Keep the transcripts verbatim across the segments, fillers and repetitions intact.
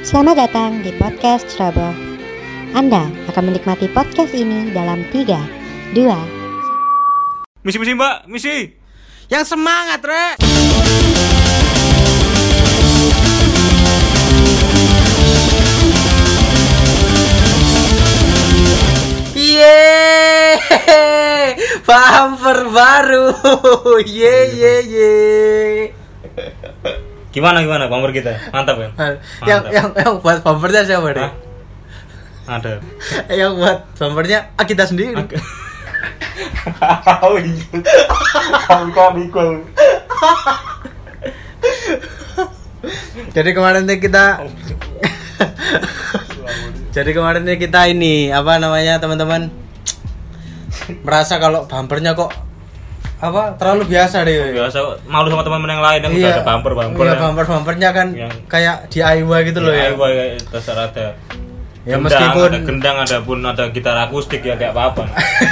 Selamat datang di podcast Trouble. Anda akan menikmati podcast ini dalam tiga, dua. Misi-misi mbak, misi. Yang semangat, Rek. Yeay, bumper baru. Ye ye ye. Gimana gimana bumper kita? Mantap kan? Yang yang yang buat bumpernya siapa deh? Ada. Yang buat bumpernya ah, kita sendiri. Oh iya. Kamu ikut. Jadi kemarin nih kita Jadi kemarin nih kita ini apa namanya teman-teman merasa kalau bumpernya kok apa terlalu biasa deh. Biasa malu sama teman-teman yang lain yang iya, udah ada bumper-bumper. Iya, bumper-bumpernya kan yang kayak D I Y gitu loh ya. D I Y kayak terserah ada. Ya gendang, meskipun ada gendang ada pun ada gitar akustik ya kayak apa-apa.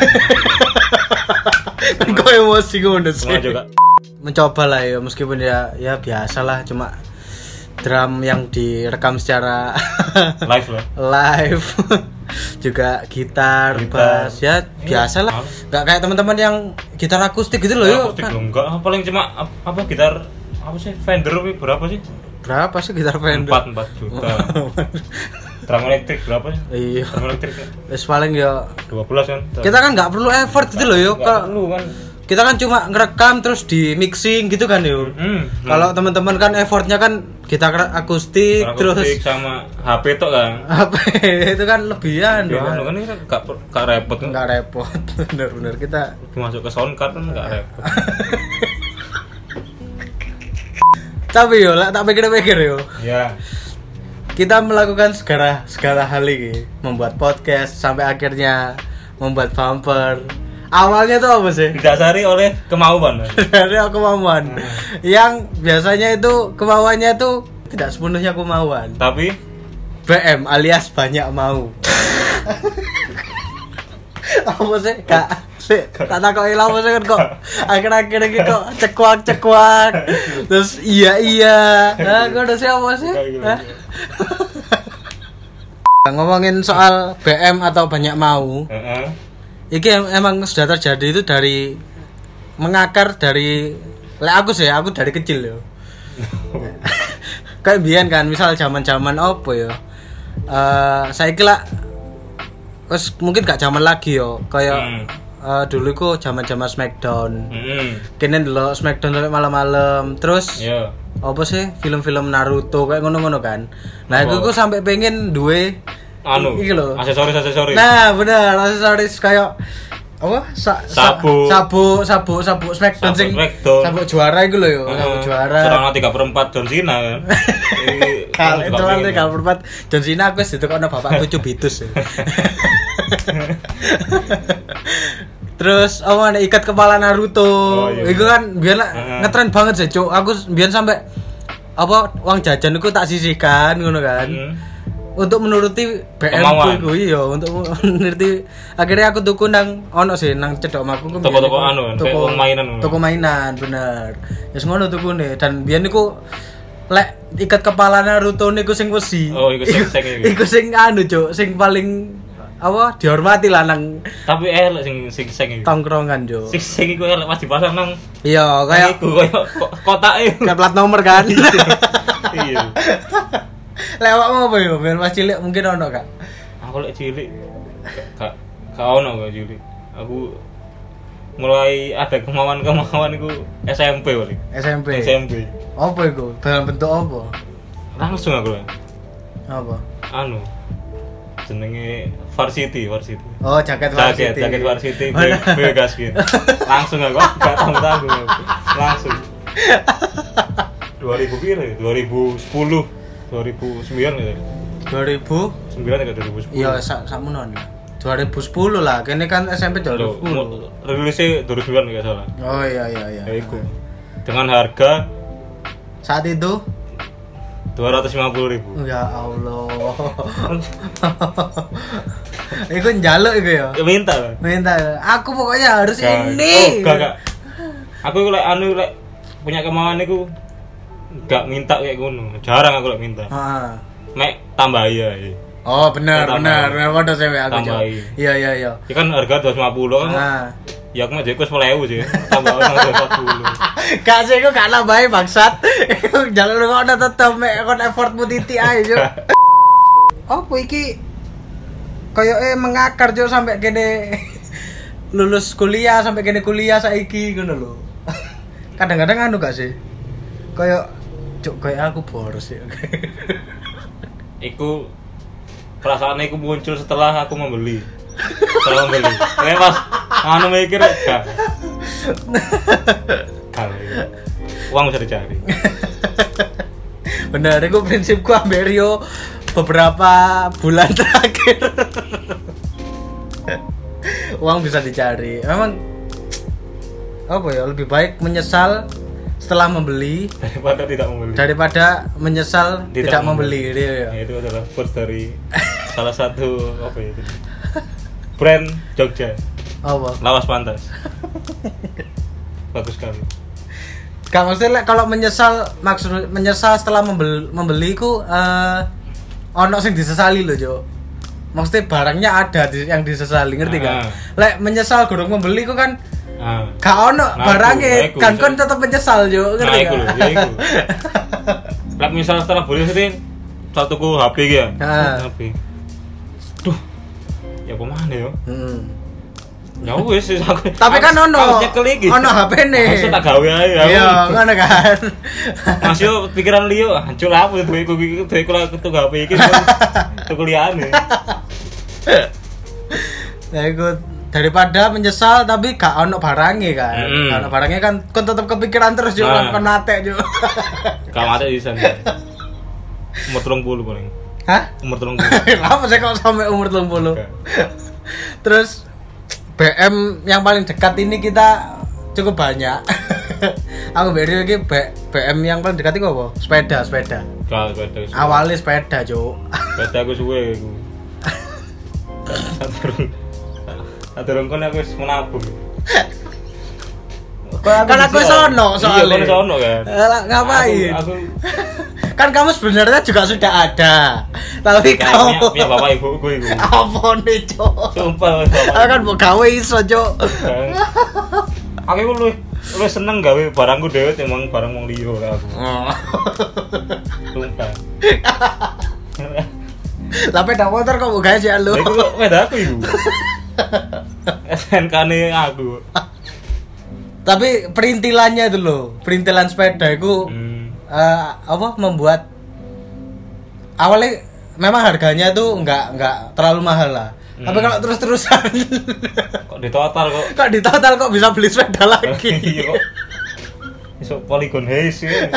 Kan kok emosi gue sih. Juga Mencoba lah ya meskipun ya ya biasa lah cuma drum yang direkam secara live lah. Live. Juga gitar, gitar, bass ya biasa lah. Enggak kayak teman-teman yang gitar akustik gitu loh ya. Akustik kan. Enggak, paling cuma apa gitar apa sih Fender berapa sih? Berapa sih gitar Fender? empat juta. Drum elektrik berapa sih? Iya. Drum elektrik. Wis paling ya dua belas kan. Kita kan enggak perlu effort gitu loh yo. Kalau kan kita kan cuma ngerekam terus di mixing gitu kan yo. Hmm, hmm. Kalau teman-teman kan effortnya kan gitar akustik, akustik terus sama H P tok kan. H P itu kan lebihan ya, kan. kan ini kan gak, gak repot kan. Gak repot. Bener-bener kita masuk ke sound card kan gak repot. Tapi yo lah tak pikir-pikir yo. Ya. Kita melakukan segala segala hal ini, membuat podcast sampai akhirnya membuat bumper. Awalnya tuh apa sih? Didasari oleh kemauan. Dari kemauan. Hmm. Yang biasanya itu kemauannya tuh tidak sepenuhnya kemauan. Tapi B M alias banyak mau. Apa sih? Kak, sih, tak takoki lha apa sih kan kok. Akhir-akhir iki kok cekuak-cekuak. Terus iya iya. Nah, kok udah siapa sih? Ngomongin soal B M atau banyak mau. Heeh. Iki emang sudah terjadi itu dari mengakar dari lek aku sih, aku dari kecil yo. Kayak biyen kan, misal zaman-zaman opo yo. Eh saiki lah wis mungkin gak zaman lagi yo, kayak hmm. uh, dulu iku zaman-zaman Smackdown. Heeh. Hmm. Kene ndelok Smackdown sampai malam-malam. Terus yo. Apa sih film-film Naruto kayak ngono-ngono kan. Nah, aku ku sampai pengen duwe anu iki lho aksesoris aksesoris nah bener aksesoris kayak apa sa, sabu sabu sabu sabu Smackdown sing sabu juara iku lho yo uh, sabu juara serana tiga per empat John Cena kan kalau itu kan tiga per empat John Cena aku wis ditukokno bapakku Cubitus terus oh ada ikat kepala Naruto oh, iya. Iku kan biar uh-huh. ngetren banget sih cuk aku biar sampai apa uang jajan iku tak sisihkan ngono kan uh-huh. Untuk menuruti B M ku iya untuk menuruti akhirnya aku tuku nang ono sih nang cedok maku ku toko-toko anu toko mainan toko mainan bener ya yes, ngono tukune dan biyen niku lek ikat kepala Naruto niku sing wesi oh iku sing sing iku sing anu cuk sing paling apa dihormati lah nang tapi elek sing sing sing iki tongkrongan jo sing sing iku elek pas dipasang nang iya kayak iku koyo kotake kayak plat nomor kan iya lewat mau apa ya? Biar mas cilik mungkin ono kak? Aku lek cilik kak kak ono kak cilik. Aku mulai ada kemauan-kemauan itu S M P kali. S M P. S M P. Apa itu? Dalam bentuk apa? Langsung aku lah. Apa? Anu. Jenenge Varsity, Varsity. Oh, jaket Varsity. Jaket, jaket Varsity. Begas gitu. Langsung aku enggak tanggung-tanggung. Langsung. dua ribu piro ya? dua ribu sepuluh dua ribu sembilan gitu. dua ribu sembilan atau dua ribu sepuluh? Iya, sakmono lah. dua ribu sepuluh lah. Kene kan S M P dua ribu sepuluh. Rilisnya dua ribu sembilan enggak salah. Oh iya iya iya. Ya iku. Dengan harga saat itu dua ratus lima puluh ribu. Ya Allah. Iku njaluk iku ya. Minta lah. Minta. Aku pokoknya harus gak, ini. Oh, enggak, enggak. Aku lek anu lek punya kemauan iku enggak minta kayak ngono. Jarang aku lek minta. Heeh. mek tambah ya. Oh benar benar, benar padha cewek aku. Iya iya iya. Ya kan harga dua ratus lima puluh kan. Nah. Ya aku mah sepuluh ribu sih. Tambah dua ratus empat puluh. Gak sih aku gak nambahin bangsat. Jangan lu kok tetep mek kon effortmu titik ae yo. Opo iki koyoke mengakar jo sampai kene lulus kuliah sampai kene kuliah saiki ngono lho. Kadang-kadang anu gak sih? Kayak cuk kayak aku boros ya. Iku perasaan iku muncul setelah aku membeli. Setelah membeli. Kayak pas anu mikir gak. Kali. Uang bisa dicari. Benar, itu prinsipku ambek Rio beberapa bulan terakhir. Uang bisa dicari. Memang apa ya, lebih baik menyesal setelah membeli daripada tidak membeli. Daripada menyesal tidak, tidak membeli. membeli. Ya. Ya, itu adalah quotes dari salah satu apa ya itu? Brand Jogja. Apa? Lawas pantas. Bagus sekali. Gak maksudnya kalau menyesal maksud menyesal setelah membeli membeli ku uh, ono sing disesali lho, Jo. Maksudnya barangnya ada di, yang disesali, ngerti kan? Ah. Lek menyesal gurung membeli ku kan ah. Gak ono nah, barangnya, kan kon tetap menyesal, Jo, ngerti kan? Nah, iku lho, lek misal setelah beli sih satu ku H P iki ya. Ah. H P. Duh. Ya kemana yo? Heeh. Ya wis aku. Tapi kan ono. Ono H P-ne. Masuk tak gawe ae. Iya, ngono kan. Mas yo pikiran liyo, hancur aku duweku iki duweku tuku H P iki. Tuku liyane. Ya iku daripada menyesal tapi gak ono barangnya kan. Mm. Ono barangnya kan kon tetep kepikiran terus yo nah. Kon nate yo. Gak mate isan. Umur tiga puluh paling. Hah? Umur tiga puluh. Kenapa sih kok sampai umur tiga puluh? Terus B M yang paling dekat ini kita cukup banyak. Aku beri lagi B M yang paling dekat itu apa? Sepeda, sepeda. Kalau sepeda. Awalnya sepeda, Cuk. Sepeda aku suwe aku. Aturun kon aku wis menabung. Kan aku sono soalnya. Iya, sono kan. Ngapain? Aku, aku kan kamu sebenarnya juga sudah ada, tapi ya, kamu punya bapak ibuku itu. Apa nih, Cok? Sumpah, aku kan mau gawe iso, Cok. Aku lu lu seneng gawe barangku dhewe emang barang wong liya aku. Sumpah. Lah peda motor kok mau gawe sih lu? Iku peda aku iku. S N K-ne aku. Tapi perintilannya itu loh, perintilan sepeda itu hmm. uh, apa membuat awalnya memang harganya tuh nggak nggak terlalu mahal lah. Hmm. Tapi kalau terus-terusan kok di total kok kok di total kok bisa beli sepeda lagi. Iya kok. Iso Polygon Haze ya.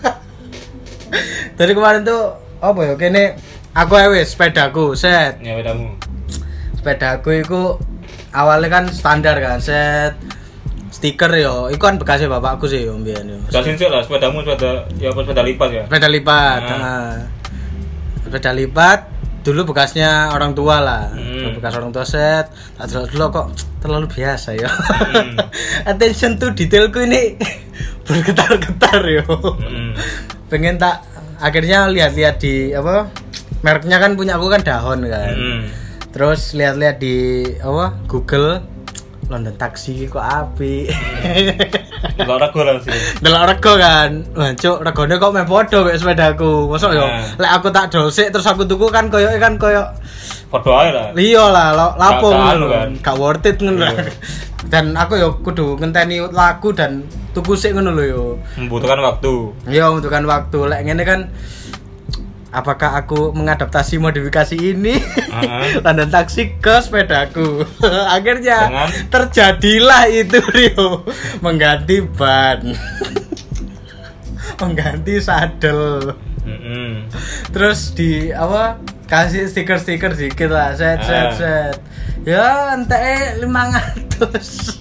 Dari kemarin tuh apa ya kene aku wis sepedaku set. Ya sepedamu. Sepedaku itu awalnya kan standar kan set. Stiker yo, itu kan bekasnya bapakku sih yo mbiyen yo. Jelasin sih lah sepedamu sepeda ya sepeda lipat ya. Sepeda lipat. Nah. Nah. Sepeda lipat dulu bekasnya orang tua lah. Hmm. Bekas orang tua set. Tak dulu kok terlalu biasa yo. Hmm. Attention to detailku ini bergetar-getar yo. Hmm. Pengen tak akhirnya lihat-lihat di apa? Mereknya kan punya aku kan Dahon kan. Hmm. Terus lihat-lihat di apa? Google London taksi kok api. Delok rego lah sih. Delok rego kan. Wah, cuk, regone kok meh padha mek sepedaku. Mosok yo lek aku tak dolsik terus aku tuku kan koyoke kan koyo padha ae lah. Iya lah, lapo ngono kan. Gak worth it ngono. Dan aku yo kudu ngenteni laku dan tuku sik ngono lho yo. Membutuhkan waktu. Iya, membutuhkan waktu. Lek ngene kan apakah aku mengadaptasi modifikasi ini uh-huh. London taksi ke sepedaku. Akhirnya dengan? Terjadilah itu Rio mengganti ban, mengganti sadel, uh-huh. Terus di apa kasih stiker-stiker dikit lah, set uh. set set. Ya ente lima ratus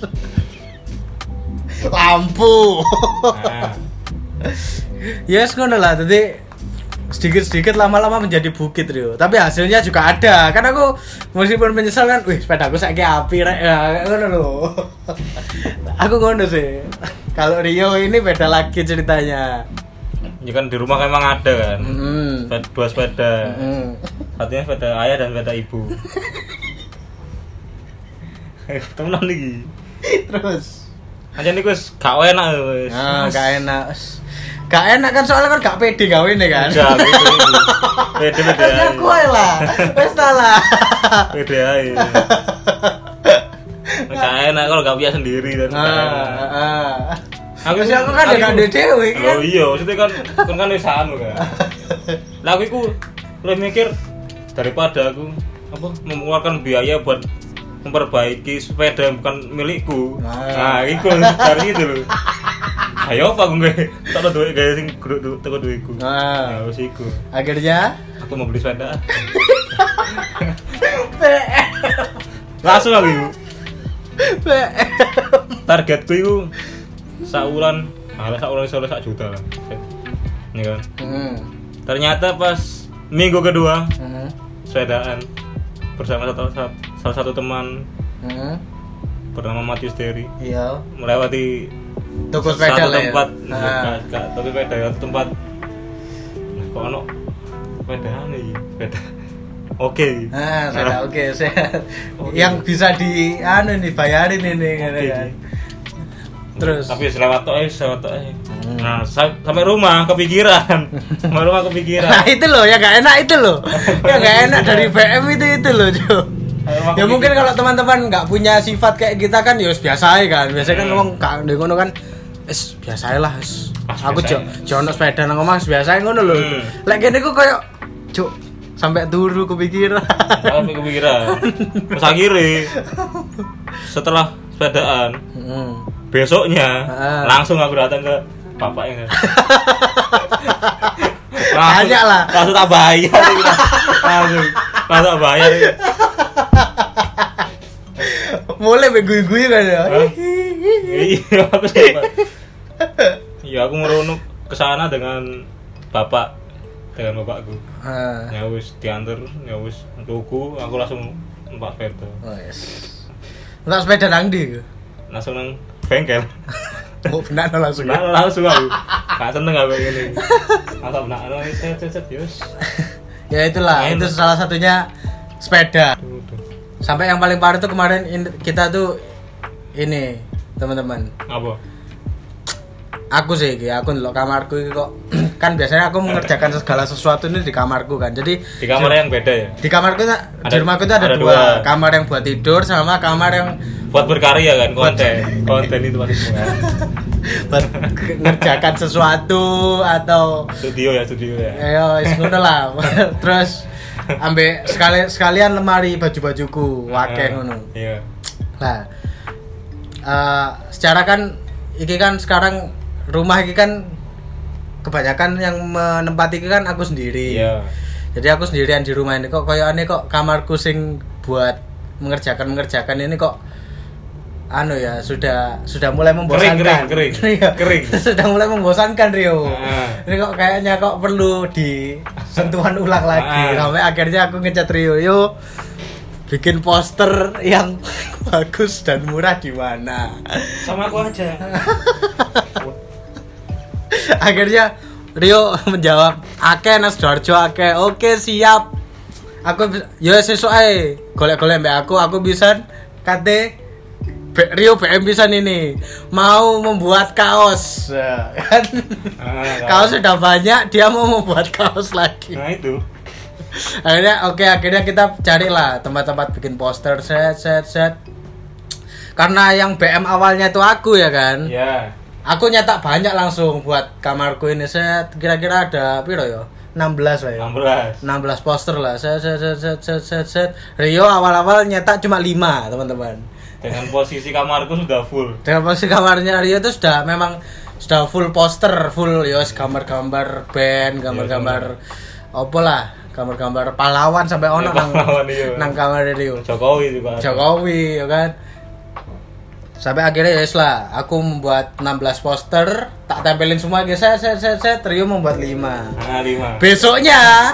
lampu. Uh. Yes ngono lah tadi. Sedikit-sedikit lama-lama menjadi bukit Rio. Tapi hasilnya juga ada. Kan aku meskipun menyesal kan, wih sepedaku saiki api rek ya ngono lho. Aku ngono sih. Kalau Rio ini beda lagi ceritanya. Ya kan di rumah kan emang ada kan. Mm. Dua sepeda. Mm. Satunya sepeda ayah dan sepeda ibu. Temenan lagi. Terus aja nih wis gak enak wis. ah gak enak gak enak kan soalnya kan gak pede gawe nih kan udah gitu pede pede aja aku ae lah wis ta lah pede aja gak enak kalau gak punya sendiri dan gak enak ah aku sih aku kan gak ada dewe kan oh iya maksudnya kan kan kan wis anu kan lah aku iku lebih mikir daripada aku apa mengeluarkan biaya buat memperbaiki sepeda yang bukan milikku. Nah, nah itu dari itu loh. Ayo apa gue tak ada duit gaya sing kudu teko duitku. Nah, ya wis iku. Akhirnya aku mau beli sepeda. Langsung aku iku. Targetku iku saulan, ala saulan iso sak juta lah. Ini kan. Hmm. Ternyata pas minggu kedua hmm. sepedaan bersama satu, salah satu teman hmm. bernama Matius Derry. Iya. Melewati toko sepeda satu tempat, ya. Enggak, enggak, toko sepeda ya, satu tempat. Nah, kok ono sepedaan iki, sepeda. Oke. Nah, sepeda oke, sehat. Yang bisa di anu nih bayarin ini okay. kan. Terus tapi selewat tok ae, selewat tok ae. Nah, sampai rumah kepikiran. Sampai rumah kepikiran. Nah, itu loh, ya enggak enak itu loh. Ya enggak enak dari B M itu itu loh, Cuk. Ya mungkin kalau teman-teman enggak punya sifat kayak kita kan ya biasa aja kan. Biasanya kan wong gak ndek ngono kan wis biasa lah wis. Aku jo jono sepeda nang omah biasa ngono lho. Lek kene ku koyo Cuk sampai turu kepikiran. Sampai kepikiran. Terus akhirnya setelah sepedaan hmm. besoknya ah. langsung aku datang ke bapaknya. Banyak lah. Langsung tak bayar. Langsung, langsung tak bayar. Mulai beguy-guy kan ya. Iya, aku sempat. Iya, aku meronok ke sana dengan bapak, dengan bapakku. Ah. Ya wis diantar, ya wis tuku, aku langsung numpak sepeda. Oh yes. Numpak sepeda nang ndi? Langsung nang bengkel. Oh benar langsung. Benar langsung aku. Gak seneng aku ngene. Masa benar set-set yus. Ya itulah, itu salah satunya sepeda. Sampai yang paling parah tuh kemarin kita tuh ini, teman-teman. Apa? Aku sih, aku ndelok kamarku iki kok kan biasanya aku mengerjakan segala sesuatu ini di kamarku kan. Jadi di kamar yang beda ya. Di kamarku ada, di rumahku itu ada, ada dua. dua, kamar yang buat tidur sama kamar yang buat berkarya kan, konten. Konten itu pasti semua. Buat mengerjakan sesuatu atau studio ya, studio ya. Ayo, wis ngono lah. Terus ambek sekali sekalian lemari baju-bajuku, wakeh ngono. Iya. Nah, uh, secara kan iki kan sekarang rumah iki kan kebanyakan yang menempati iki kan aku sendiri. Iya. Jadi aku sendirian di rumah ini kok koyokane kok kamarku sing buat mengerjakan-mengerjakan ini kok anu ya sudah sudah mulai membosankan. Kering, kering, kering. kering. Sudah mulai membosankan Rio. Ah. Ini kok kayaknya kok perlu disentuhan ulang lagi. Ah. Sampai akhirnya aku ngecat Rio, "Yo, bikin poster yang bagus dan murah di mana?" Sama aku aja. Akhirnya Rio menjawab, "Akeh Nas Dorjo akeh." Oke, siap. Aku yo sesuk ae golek-golek mbek aku, aku bisa kate Rio B M bisa ini mau membuat kaos kan. Ah, kaos sudah banyak, dia mau membuat kaos lagi. Nah itu. Akhirnya oke okay, akhirnya kita carilah tempat-tempat bikin poster set set set. Karena yang B M awalnya itu aku ya kan. Iya. Yeah. Aku nyetak banyak langsung buat kamarku ini set kira-kira ada piro ya? enam belas lah ya. enam belas. enam belas poster lah. Set set set set set set. set. Rio awal-awal nyetak cuma lima, teman-teman. Dengan posisi kamarku sudah full. Dengan posisi kamarnya Rio itu sudah memang sudah full poster, full yos gambar-gambar band, gambar-gambar apa lah, gambar-gambar pahlawan sampai ono nang iya. nang kamar Rio. Jokowi juga. Jokowi ya kan. Sampai akhirnya yos lah, aku membuat enam belas poster, tak tempelin semua guys, set set set set, Rio membuat lima. Nah, lima. Besoknya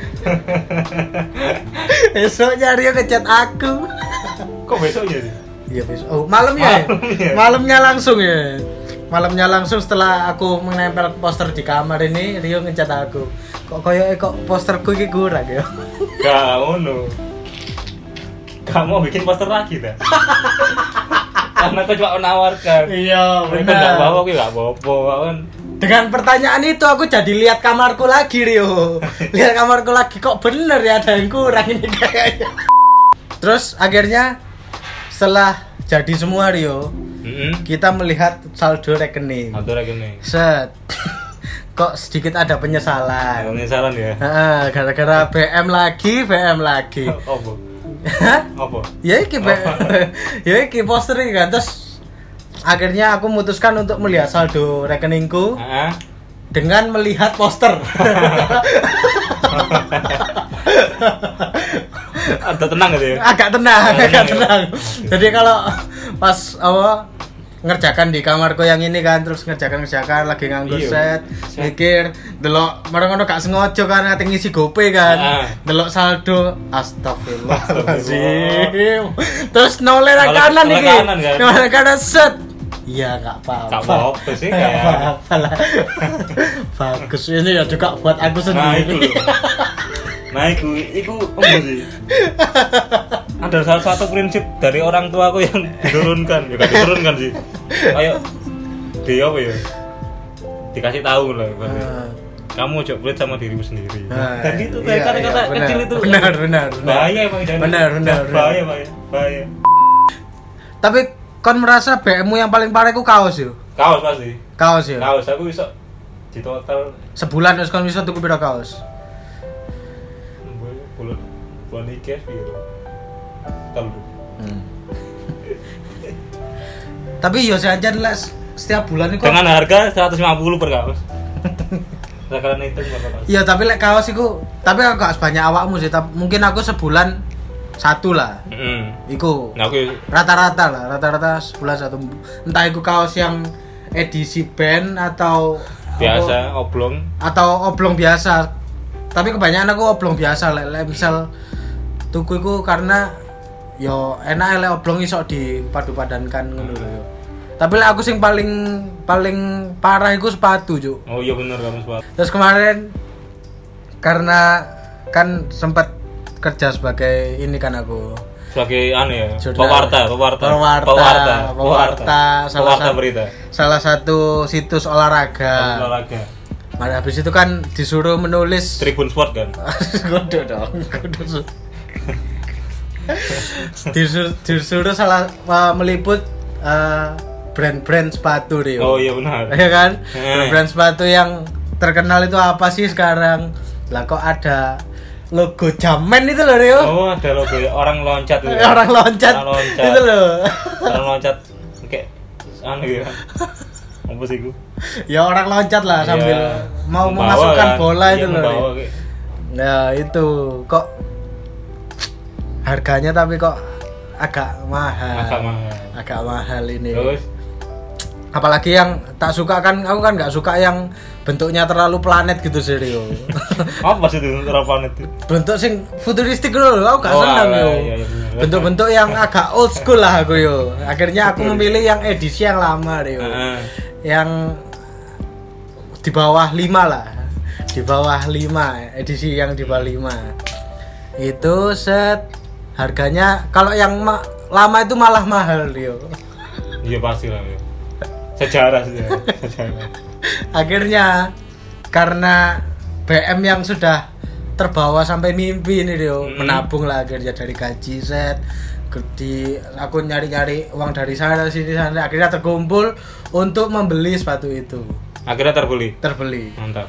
Besoknya Rio ngecat aku. Kok besoknya sih? Iya besok. Oh, malamnya. Malamnya. Malamnya langsung ya. malamnya langsung setelah aku menempel poster di kamar ini, Rio ngecat aku. Kok koyo kok posterku iki kurang ya. Gak ngono. Kamu bikin poster lagi dah. Karena aku cuma menawarkan. Iya, Mereka benar. enggak bawa, aku enggak apa-apa kan. Dengan pertanyaan itu aku jadi lihat kamarku lagi, Rio. Lihat kamarku lagi, kok bener ya ada yang kurang ini kayaknya. Terus akhirnya setelah jadi semua, Rio, Heeh. kita melihat saldo rekening. Saldo rekening. Set. Kok sedikit ada penyesalan. Penyesalan ya. Heeh, gara-gara B M lagi, B M lagi. Apa? Hah? Apa? Ya iki B- ya iki poster iki kan. Terus akhirnya aku memutuskan untuk melihat saldo rekeningku Heeh. dengan melihat poster. Ada tenang gitu ya. Agak tenang, Agak agak tenang, tenang. Jadi kalau pas apa ngerjakan di kamarku yang ini kan, terus ngerjakan ngerjakan lagi nganggur Iya. set, Set. mikir delok marang ngono gak sengaja kan ngate ngisi GoPay kan. Ah. Delok saldo, astagfirullahalazim. Terus noleh nang Noleh- kanan noleh iki. kanan kan? Noleh kanan set. Iya, enggak apa-apa. Gak apa-apa sih, Nggak kayak- apa-apa lah. Bagus ini ya juga buat aku Nah, sendiri. itu. Nah, itu itu apa sih? Ada salah satu prinsip dari orang tua aku yang diturunkan, ya gak diturunkan sih. Kayak dia apa ya? Dikasih tahu lah, ibaratnya. Ah. Kamu coba pelit sama dirimu sendiri. Nah, Dan itu iya, kayak kata-kata iya, benar. kecil itu. Benar, benar, benar. Bahaya emang jangan. Benar, benar, Bahaya, bahaya, bahaya. Tapi kon merasa B M-mu yang paling parah ku kaos yo. Kaos pasti. Kaos yo. Kaos aku bisa di total Sebulan wis kon bisa tuku piro kaos? bulan bulan iki piro? Telu. Hmm. Tapi yo saja lah setiap bulan itu. Dengan harga seratus lima puluh per kaos. Sekarang itu berapa kaos? Iya, tapi lek kaos iku, tapi aku gak sebanyak awakmu sih, tapi mungkin aku sebulan satu lah. Heeh. Iku Nah, aku rata-rata lah, rata-rata sebulan satu. Entah itu kaos yang edisi band atau biasa oblong. atau oblong biasa. Tapi kebanyakan aku oblong biasa lek lek misal tuku iku karena yo enak lek oblong iso dipadu-padankan ngono lho yo. Tapi lek aku sing paling paling parah iku sepatu, Cuk. Oh iya bener kamu sepatu. Terus kemarin karena kan sempat kerja sebagai ini kan aku Sebagai anu ya, Jurnal. pewarta, pewarta. Pewarta, pewarta, pewarta, salah pewarta satu- berita. salah satu situs olahraga. Olahraga. Nah, habis itu kan disuruh menulis Tribun Sport kan. kudu dong, kudu. disuruh, disuruh salah uh, meliput uh, brand-brand sepatu Rio. Oh iya benar. Ya kan? Hmm. Brand sepatu yang terkenal itu apa sih sekarang? Lah kok ada logo Jamen itu loh Rio. Oh, ada logo orang loncat itu. Orang loncat. Orang loncat. Itu loh. Orang loncat kayak anu ya. Apa sih gua? Ya orang loncat lah sambil Iya. mau Membawa memasukkan kan. bola Iya, itu loh. membawa Rio. kayak- Nah, itu kok harganya tapi kok agak mahal. Agak mahal. Agak mahal ini. Terus Apalagi yang tak suka kan, aku kan nggak suka yang bentuknya terlalu planet gitu sih Rio. apa sih itu terapan itu? Bentuk sing futuristik loh, aku gak Oh, seneng alah, yo. iya, iya, bener. Bentuk-bentuk yang agak old school lah aku yo. Akhirnya aku memilih yang edisi yang lama Rio. Heeh. Yang di bawah lima lah. Di bawah lima, edisi yang di bawah lima. Itu set harganya kalau yang ma- lama itu malah mahal Rio. Iya pasti lah ya. Sejarah sih ya. Sejarah. Akhirnya karena B M yang sudah terbawa sampai mimpi ini Rio, Mm-hmm. menabung lah akhirnya dari gaji set di aku nyari-nyari uang dari sana sini sana akhirnya terkumpul untuk membeli sepatu itu. Akhirnya terbeli. Terbeli. Mantap.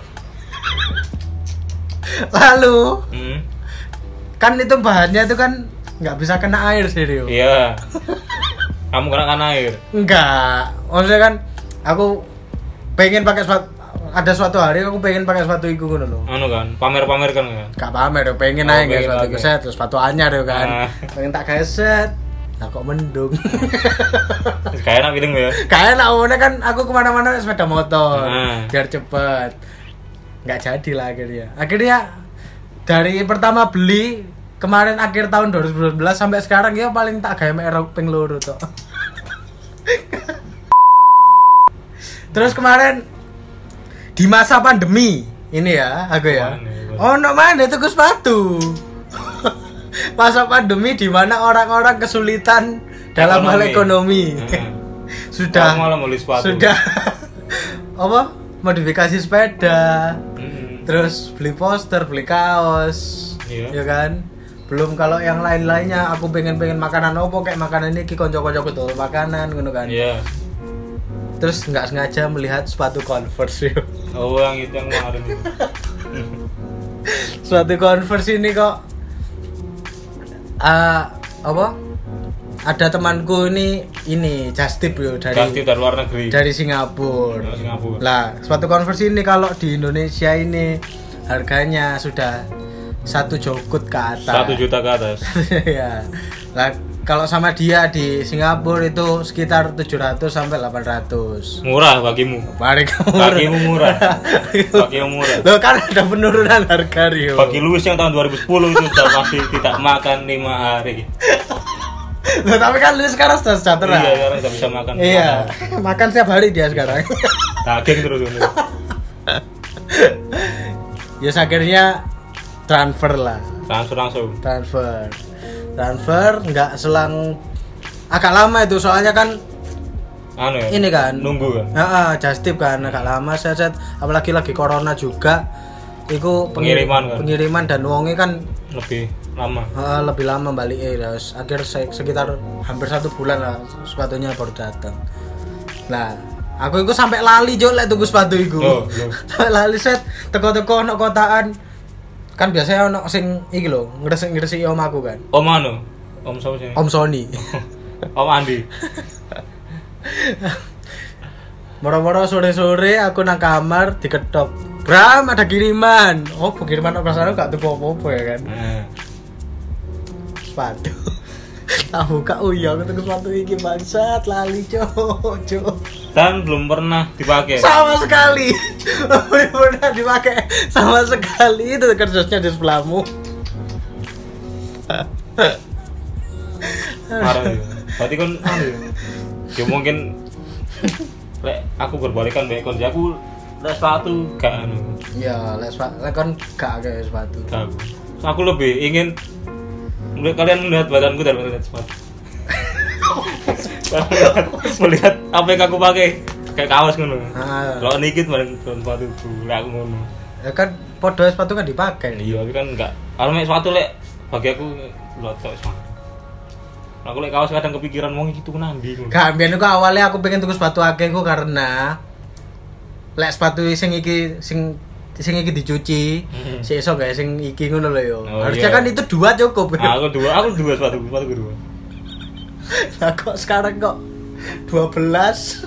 Lalu Hmm. kan itu bahannya itu kan nggak bisa kena air sih Rio. Iya. Kamu kena kan air. Enggak, maksudnya kan aku pengen pakai sepatu, ada suatu hari aku pengen pakai sepatu itu ngono loh. Anu kan, pamer-pamer kan kan. Gak pamer yo, pengen Oh, aja pengen sepatu pakai. set, terus sepatu anyar yo kan. Ah. Pengen tak gawe set. Nah kok mendung. Kayak enak feeling ya. Kayak nak omongnya kan aku kemana-mana sepeda motor, Ah. biar cepet. Nggak jadi lah akhirnya. Akhirnya dari pertama beli kemarin akhir tahun dua ribu sembilan belas sampai sekarang ya paling tak gawe merek ping loro tok. Terus kemarin di masa pandemi ini ya, aku ya. Oh, no mana tuku sepatu. Masa pandemi di mana orang-orang kesulitan dalam hal ekonomi. Hmm. Sudah sudah apa? Modifikasi sepeda. Hmm. Terus beli poster, beli kaos. Iya. Ya kan? Belum kalau yang lain-lainnya aku pengen-pengen makanan opo kayak makanan ini ki kanca-kanca kudu makanan ngono kan. Iya. Terus enggak sengaja melihat sepatu Converse. Oh, yang itu yang kemarin itu. Sepatu Converse ini kok uh, apa? Ada temanku ini ini Justip yo dari Justip dari luar negeri. Dari Singapura. Dari Singapura. Lah, sepatu Converse ini kalau di Indonesia ini harganya sudah satu jokut ke atas. Satu juta ke atas. Ya. Lah, kalau sama dia di Singapura itu sekitar tujuh ratus sampai delapan ratus. Murah bagimu. Bagimu murah. Bagimu murah. Loh kan ada penurunan harga Rio. Bagi Luis yang tahun dua ribu sepuluh itu sudah masih tidak makan lima hari. Loh, tapi kan Luis sekarang sudah sejahtera. Iya, sekarang sudah bisa makan. Iya, makan setiap hari dia sekarang. Daging terus ini. Ya akhirnya transfer lah. Transfer langsung. Transfer. Transfer enggak selang agak lama itu soalnya kan anu ya, ini kan nunggu kan. Heeh, Justip kan agak lama set apalagi lagi corona juga. Iku pengiriman kan. Pengiriman dan wonge kan lebih lama. Heeh, lebih lama balik eh terus akhir sekitar hampir satu bulan lah sepatunya baru datang. Nah, aku itu sampai lali jo lek tuku sepatu iku. Oh, sampai lali set teko-teko ono kotaan. Kan biasanya ono sing iki lho, ngresik-ngresiki om aku kan. Om anu? Om sapa sih? Om Sony. Om Andi. Moro-moro sore-sore aku nang kamar diketok. Bram, ada kiriman. Oh, kiriman kok rasane gak tuku apa-apa ya kan. Heeh. Sepatu. Tak buka, oh iya aku tuku sepatu iki bangsat lali cok, cok. Dan belum pernah dipakai. Sama sekali. Belum pernah dipakai sama sekali. Itu kerjanya di sebelahmu. Parah ya. Berarti kan anu ya mungkin lek aku berbalikan bae kon aku les sepatu gak anu. Iya, les sepatu. Lek kon gak kayak sepatu. Gak. Aku lebih ingin kalian melihat badanku dan melihat sepatu. Melihat apa yang aku pakai kayak kaos ngono. Ah. Kalau dikit bareng sepatu lek aku ngono. Ya kan podo sepatu kan dipakai. Iya, tapi kan enggak. Kalau mek sepatu lek bagi aku lotok sepatu. Aku lek kaos kadang kepikiran wong iki tuku nang ndi ngono. Gak, biyen aku awalnya aku pengen tuku sepatu akeh ku karena lek sepatu sing iki sing sing iki dicuci, mm-hmm. sik iso gawe sing iki ngono lho yo. Oh, harusnya iya. Kan itu dua cukup. Nah, aku dua, aku dua sepatu, sepatu kedua. Lah kok sekarang kok dua belas?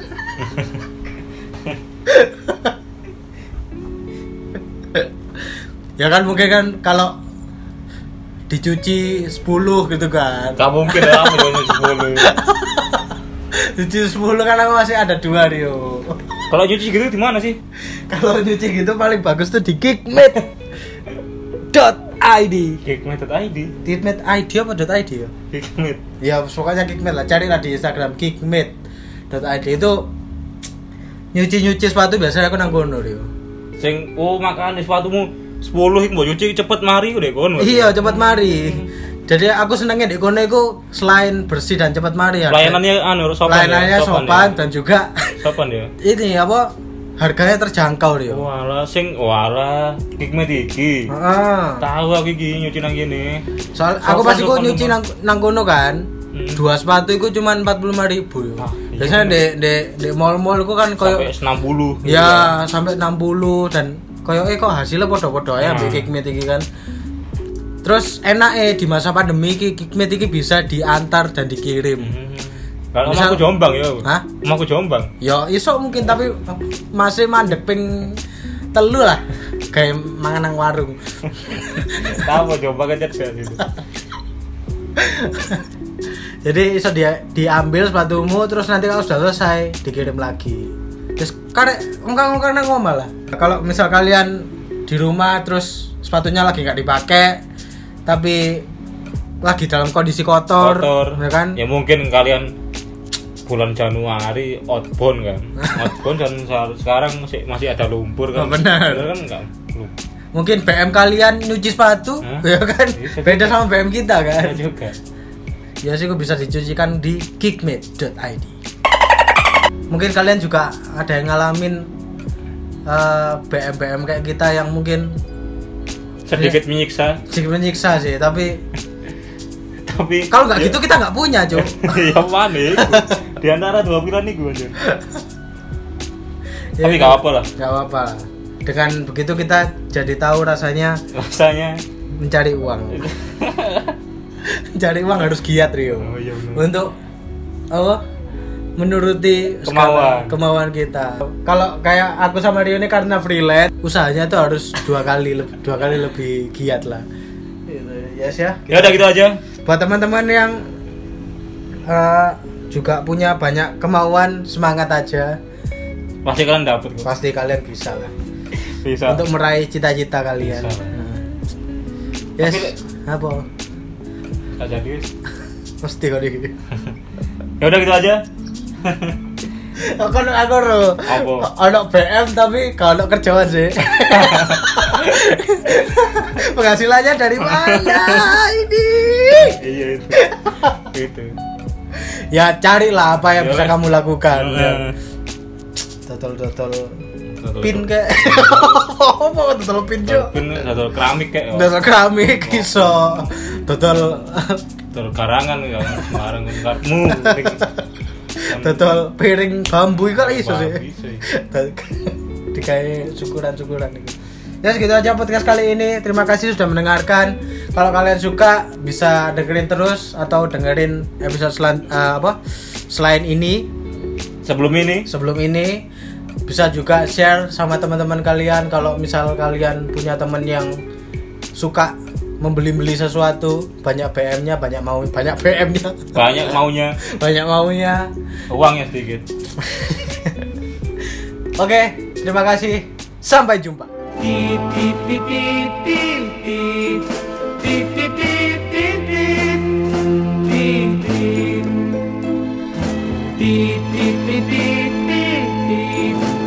Ya kan mungkin kan kalau dicuci sepuluh gitu kan. Gak mungkin lah aku nyuci sepuluh. Cuci sepuluh kan aku masih ada dua Rio. Kalau cuci gitu di mana sih? Kalau cuci gitu paling bagus tuh di geekmate dot i d. geekmate dot i d. geekmate dot i d apa .id ya? Geekmate. Ya pokoknya geekmate lah, carilah di Instagram geekmate dot i d itu nyuci-nyuci sepatu biasanya aku nang kono Rio. Sing oh makane sepatumu sepuluh iki mbok nyuci cepet mari udah kono. Iya, cepet mari. Jadi aku senengnya di kono iku selain bersih dan cepat mari ya. Pelayanannya anu sopan. Pelayanannya ya, sopan, sopan ya. Dan juga sopan ya. Ini apa? Harganya terjangkau dia. Walah sing walah geekmate iki. Heeh. Tahu aku iki nyuci nang kene. Soal aku pas iku nyuci nang nang kono kan. Hmm. Dua sepatu iku cuma empat puluh lima ribu ya. Ah, biasanya di di di mall-mall iku kan koyo sampai enam puluh. Ya, gitu. Sampai enam puluh dan koyo eh kok hasilnya podo-podo ya mbek geekmate iki kan. Terus enak eh di masa pandemi iki geekmate iki bisa diantar dan dikirim. Hmm. Kalau aku Jombang ya. Hah? Aku Jombang. Ya iso mungkin tapi masih mandek ping telu lah. Kayak mangan nang warung. Tahu Jombang aja gitu. Jadi iso dia diambil sepatumu terus nanti kalau sudah selesai dikirim lagi. Terus karek engkang-engkang nang omah lah. Kalau misal kalian di rumah terus sepatunya lagi enggak dipakai tapi lagi dalam kondisi kotor, kotor. Ya kan? Ya mungkin kalian bulan Januari outbound kan. Outbound dan sekarang masih masih ada lumpur kan. Oh, benar. Benar kan enggak? Mungkin B M kalian nyuci sepatu, Hah? ya kan? Bisa Beda juga. sama B M kita kan. Bisa juga. Ya sih, bisa dicucikan di geekmate dot i d. Mungkin kalian juga ada yang ngalamin uh, B M B M kayak kita yang mungkin Sedikit menyiksa. sedikit menyiksa sih, tapi Tapi kalau nggak gitu kita nggak punya, Cuk. ya mana iku? Di antara dua pilihan nih gue aja. Ya, Tapi nggak apa lah. nggak apa lah. Dengan begitu kita jadi tahu rasanya Rasanya mencari uang. Mencari uang harus giat, Rio. Oh, iya benar. Untuk apa? Menuruti Kemauan. skala kemauan kita. Kalau kayak aku sama Rio ini karena freelance, usahanya tuh harus dua kali le- dua kali lebih giat lah. Gitu. Yes ya. Ya udah gitu aja. Buat teman-teman yang uh, juga punya banyak kemauan, semangat aja. Pasti kalian dapet kok. Pasti kalian bisa lah Bisa. untuk meraih cita-cita kalian. Bisa. Nah. Yes. Tapi- Apa? Gak jadi. Mesti kok iki. Ya udah gitu aja. Aku aku ro. Apa? Ono B M tapi kalau kerjaan sih. Penghasilannya dari mana ini? Iya itu. Itu. Ya carilah apa yang Ya, bisa kan? kamu lakukan. Ya. Nah. Totol-totol Totol- pin kayak. Apa totol pin, Cuk? Pin satu keramik kayak. Totol keramik iso. Totol Totol karangan ya sembarang karmu. totol piring bambu iku kan iso sih. Bisa. Dikai syukuran-syukuran itu. Ya segitu aja podcast kali ini. Terima kasih sudah mendengarkan. Kalau kalian suka bisa dengerin terus atau dengerin episode selan, uh, apa selain ini. Sebelum ini Sebelum ini bisa juga share sama teman-teman kalian. Kalau misal kalian punya teman yang suka membeli-beli sesuatu, banyak B M-nya, banyak mau, banyak B M-nya, banyak maunya, banyak maunya. uangnya sedikit. Oke, terima kasih. Sampai jumpa. Beep, beep, beep, beep, beep, beep.